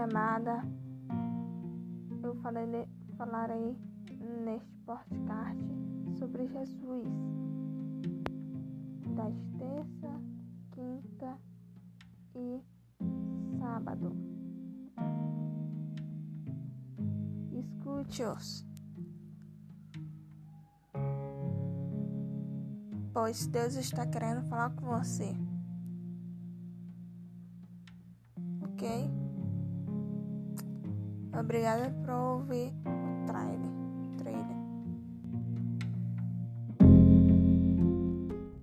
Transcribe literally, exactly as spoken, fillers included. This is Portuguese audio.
amada, eu falarei, falarei neste podcast sobre Jesus, das terça, quinta e sábado. Escute-os, pois Deus está querendo falar com você. Ok? Obrigada por ouvir o trailer. trailer.